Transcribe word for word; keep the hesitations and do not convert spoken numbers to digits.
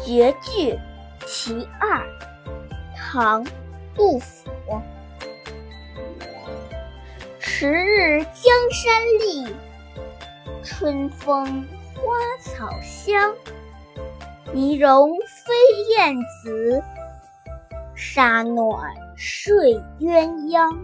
绝句其二，唐·杜甫。迟日江山丽，春风花草香。泥融飞燕子，沙暖睡鸳鸯。